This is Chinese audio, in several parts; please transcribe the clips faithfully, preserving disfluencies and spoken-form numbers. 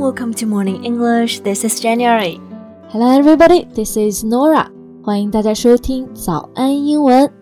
welcome to Morning English. This is January. Hello everybody, this is Nora. 欢迎大家收听早安英文。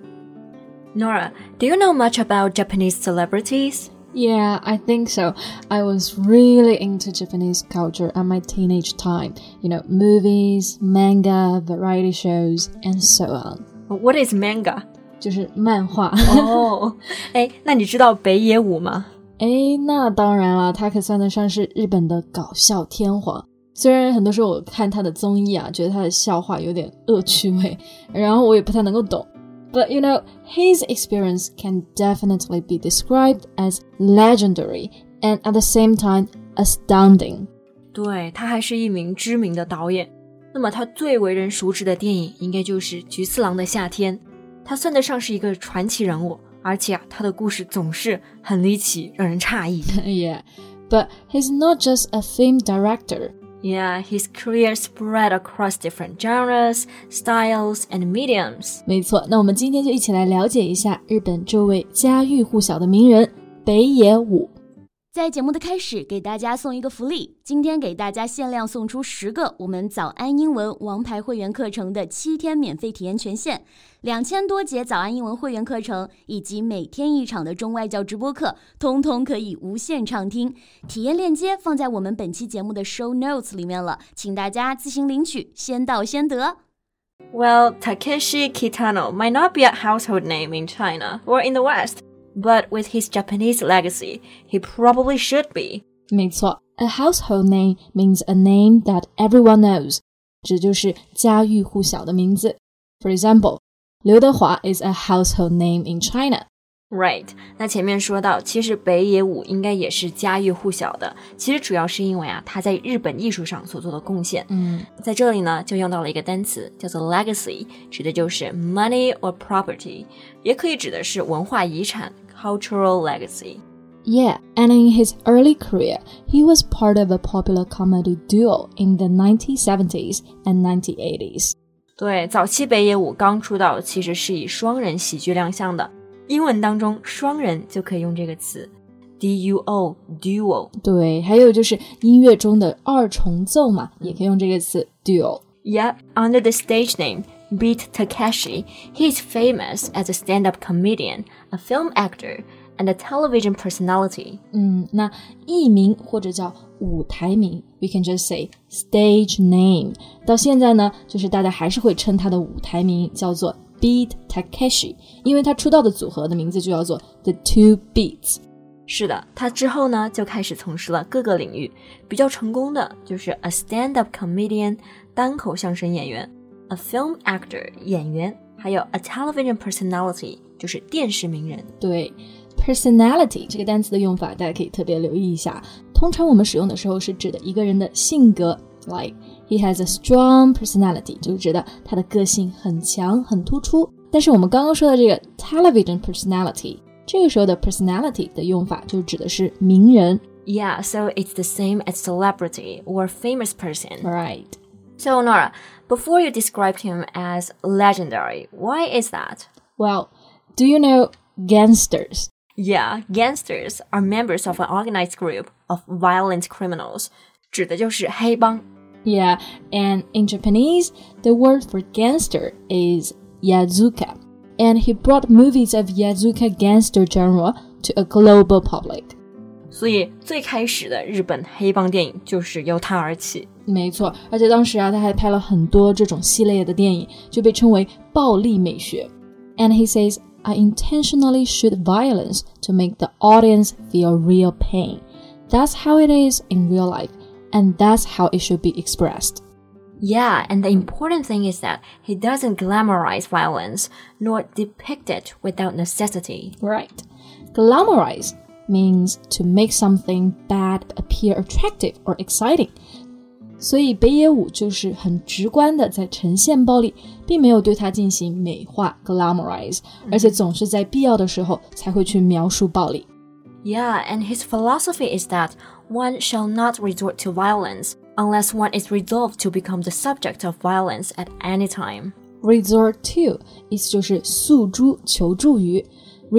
Nora, do you know much about Japanese celebrities? Yeah, I think so. I was really into Japanese culture at my teenage time. You know, movies, manga, variety shows, and so on. What is manga? 就是漫画。 哦，哎，那你知道北野武吗？ 诶，那当然了，他可算得上是日本的搞笑天皇。虽然很多时候我看他的综艺啊，觉得他的笑话有点恶趣味，然后我也不太能够懂。But you know, his experience can definitely be described as legendary and at the same time astounding. 对，他还是一名知名的导演。那么他最为人熟知的电影应该就是《菊次郎的夏天》。他算得上是一个传奇人物。而且啊，他的故事总是很离奇，让人诧异。 Yeah, but he's not just a film director. Yeah, his career spread across different genres, styles, and mediums. 没错，那我们今天就一起来了解一下日本这位家喻户晓的名人北野武。 在节目的开始，给大家送一个福利，今天给大家限量送出十个我们早安英文王牌会员课程的七天免费体验权限，两千多节早安英文会员课程以及每天一场的中外教直播课，通通可以无限畅听。体验链接放在我们本期节目的 show notes 里面了，请大家自行领取，先到先得。 Well, Takeshi Kitano might not be a household name in China or in the West.But with his Japanese legacy, he probably should be. 没错 A household name means a name that everyone knows. 这就是家喻户晓的名字。For example, 刘德华 is a household name in China. Right. 那前面说到，其实北野武应该也是家喻户晓的。其实主要是因为啊，他在日本艺术上所做的贡献。 嗯， 在这里呢，就用到了一个单词，叫做 legacy， 指的就是 money or property， 也可以指的是文化遗产。Cultural legacy. Yeah, and in his early career, he was part of a popular comedy duo in the nineteen seventies and nineteen eighties. 对，早期北野武刚出道其实是以双人喜剧亮相的，英文当中双人就可以用这个词 D U O, duo. 对，还有就是音乐中的二重奏嘛，也可以用这个词 duo. Yep, under the stage name Beat Takeshi, he is famous as a stand-up comedian, a film actor, and a television personality. 嗯，那艺名或者叫舞台名 we can just say stage name. 到现在呢，就是大家还是会称他的舞台名叫做 Beat Takeshi, 因为他出道的组合的名字就叫做 The Two Beats. 是的，他之后呢就开始从事了各个领域，比较成功的就是 a stand-up comedian, 单口相声演员，a film actor 演员，还有 a television personality 就是电视名人。 对 personality 这个单词的用法大家可以特别留意一下，通常我们使用的时候是指的一个人的性格 like he has a strong personality 就是指的他的个性很强很突出，但是我们刚刚说的这个 television personality 这个时候的 personality 的用法就指的是名人。 Yeah, so it's the same as celebrity or famous person. Right.So, Nora, before you described him as legendary, why is that? Well, do you know gangsters? Yeah, gangsters are members of an organized group of violent criminals. 指的就是黑帮。 Yeah, and in Japanese, the word for gangster is yazuka. And he brought movies of yazuka gangster genre to a global public. 所以最开始的日本黑帮电影就是由他而起。 没错，而且当时啊，他还拍了很多这种系列的电影，就被称为暴力美学。And he says, I intentionally shoot violence to make the audience feel real pain. That's how it is in real life, and that's how it should be expressed. Yeah, and the important thing is that he doesn't glamorize violence, nor depict it without necessity. Right. Glamorize means to make something bad appear attractive or exciting. 所以北野武就是很直观的在呈现暴力，并没有对它进行美化 glamorize， 而且总是在必要的时候才会去描述暴力。 Yeah, and his philosophy is that one shall not resort to violence unless one is resolved to become the subject of violence at any time. Resort to 意思就是诉诸求助于，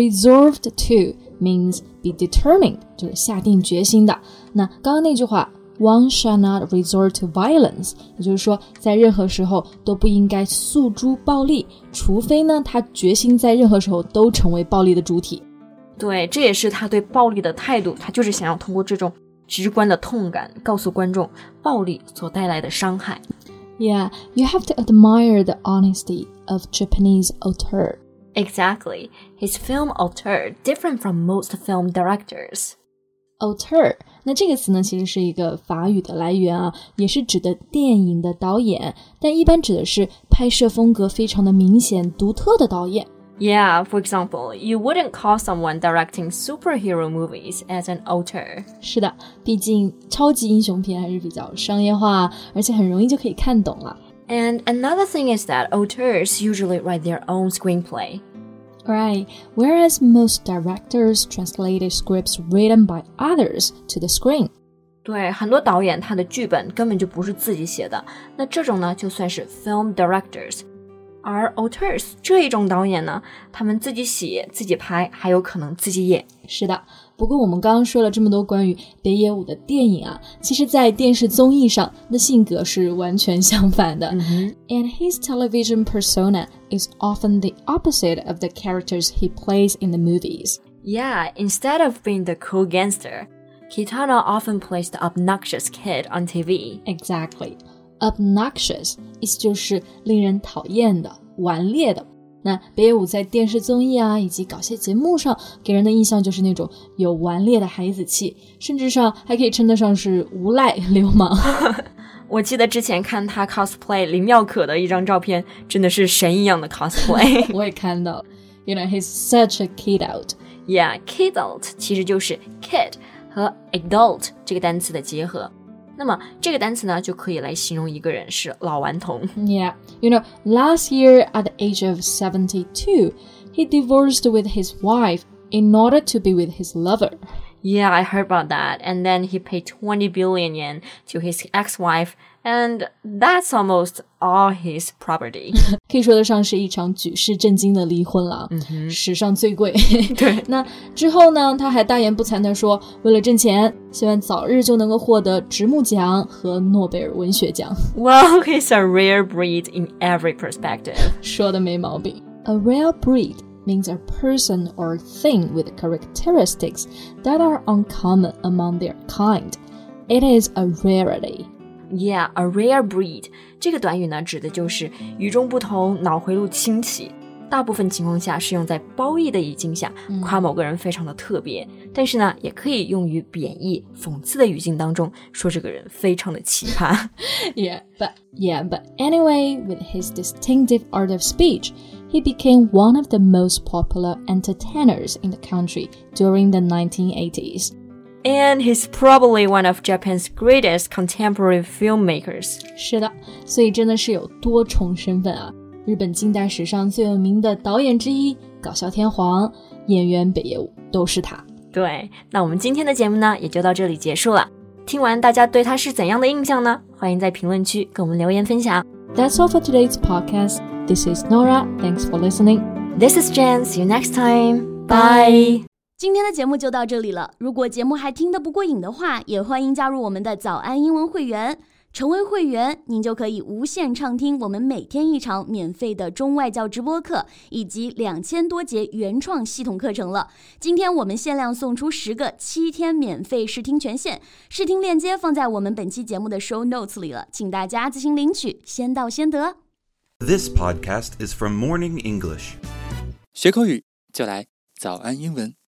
resolved to means be determined 就是下定决心的。那刚刚那句话 One shall not resort to violence， 也就是说在任何时候都不应该诉诸暴力，除非呢他决心在任何时候都成为暴力的主体。 对，这也是他对暴力的态度，他就是想要通过这种直观的痛感告诉观众暴力所带来的伤害。 Yeah, you have to admire the honesty of Japanese auteur. Exactly. His film auteur different from most film directors. Auteur 那这个词呢其实是一个法语的来源啊，也是指的电影的导演，但一般指的是拍摄风格非常的明显独特的导演。 Yeah, for example, you wouldn't call someone directing superhero movies as an auteur. 是的，毕竟超级英雄片还是比较商业化，而且很容易就可以看懂了。 And another thing is that auteurs usually write their own screenplay. Right, whereas most directors translated scripts written by others to the screen. 对，很多导演他的剧本根本就不是自己写的，那这种呢就算是 film directors。而 auteurs 这一种导演呢，他们自己写自己拍，还有可能自己演。 是的，不过我们刚刚说了这么多关于北野武的电影啊，其实在电视综艺上的性格是完全相反的。 Mm-hmm. And his television persona is often the opposite of the characters he plays in the movies. Yeah, instead of being the cool gangster, Kitano often plays the obnoxious kid on T V. Exactly.Obnoxious 意思就是令人讨厌的、顽劣的。那北野武在电视综艺啊以及搞笑节目上给人的印象就是那种有顽劣的孩子气，甚至上还可以称得上是无赖流氓。 我记得之前看他 cosplay 林妙可的一张照片，真的是神一样的 cosplay。 我也看到 You know, he's such a kid out. Yeah, kid out 其实就是 kid 和 adult 这个单词的结合。那么这个单词呢就可以来形容一个人是老顽童。 Yeah, you know, last year at the age of seventy-two, he divorced with his wife in order to be with his lover. Yeah, I heard about that. And then he paid twenty billion yen to his ex-wife, and that's almost all his property. 可以说得上是一场举世震惊的离婚了， 嗯、 史上最贵。 对， 那之后呢，他还大言不惭地说，为了挣钱，希望早日就能够获得直木奖和诺贝尔文学奖。 Well, he's a rare breed in every perspective. 说得没毛病。A rare breed means a person or thing with characteristics that are uncommon among their kind. It is a rarity.Yeah, a rare breed 这个短语呢指的就是与众不同，脑回路清奇，大部分情况下是用在褒义的语境下夸某个人非常的特别、嗯、但是呢也可以用于贬义讽刺的语境当中说这个人非常的奇葩。 yeah, but, yeah, but anyway, with his distinctive art of speech, he became one of the most popular entertainers in the country during the nineteen eighties.And he's probably one of Japan's greatest contemporary filmmakers. 是的，所以真的是有多重身份啊！日本近代史上最有名的导演之一，搞笑天皇、演员北野武都是他。 对，那我们今天的节目呢，也就到这里结束了。听完大家对他是怎样的印象呢？欢迎在评论区跟我们留言分享。 That's all for today's podcast. This is Nora. Thanks for listening. This is Jen. See you next time. Bye. 今天的节目就到这里了。如果节目还听得不过瘾的话，也欢迎加入我们的早安英文会员。成为会员，您就可以无限畅听我们每天一场免费的中外教直播课，以及两千多节原创系统课程了。今天我们限量送出十个七天免费试听权限，试听链接放在我们本期节目的 show notes 里了，请大家自行领取，先到先得。 This podcast is from Morning English. 学口语就来早安英文。